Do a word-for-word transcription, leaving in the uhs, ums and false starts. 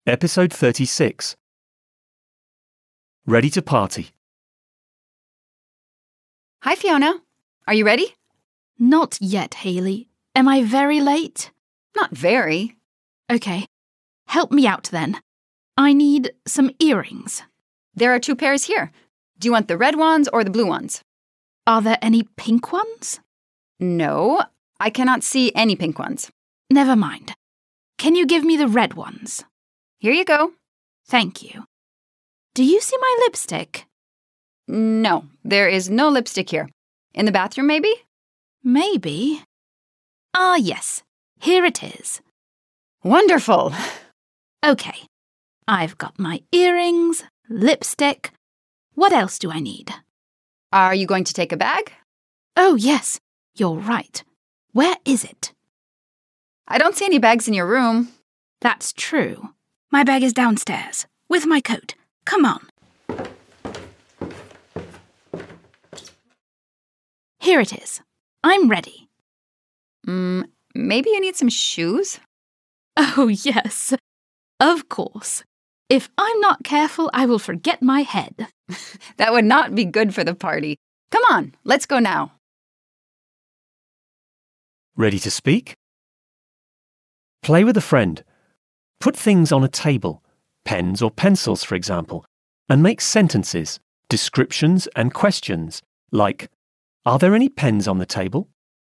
Episode thirty-six. Ready to party. Hi, Fiona. Are you ready? Not yet, Hayley. Am I very late? Not very. Okay. Help me out then. I need some earrings. There are two pairs here. Do you want the red ones or the blue ones? Are there any pink ones? No, I cannot see any pink ones. Never mind. Can you give me the red ones? Here you go. Thank you. Do you see my lipstick? No, there is no lipstick here. In the bathroom, maybe? Maybe. Ah, yes. Here it is. Wonderful. Okay. I've got my earrings, lipstick. What else do I need? Are you going to take a bag? Oh, yes. You're right. Where is it? I don't see any bags in your room. That's true. My bag is downstairs, with my coat. Come on. Here it is. I'm ready. Mm, maybe you need some shoes? Oh, yes. Of course. If I'm not careful, I will forget my head. That would not be good for the party. Come on, let's go now. Ready to speak? Play with a friend. Put things on a table, pens or pencils, for example, and make sentences, descriptions and questions like, are there any pens on the table?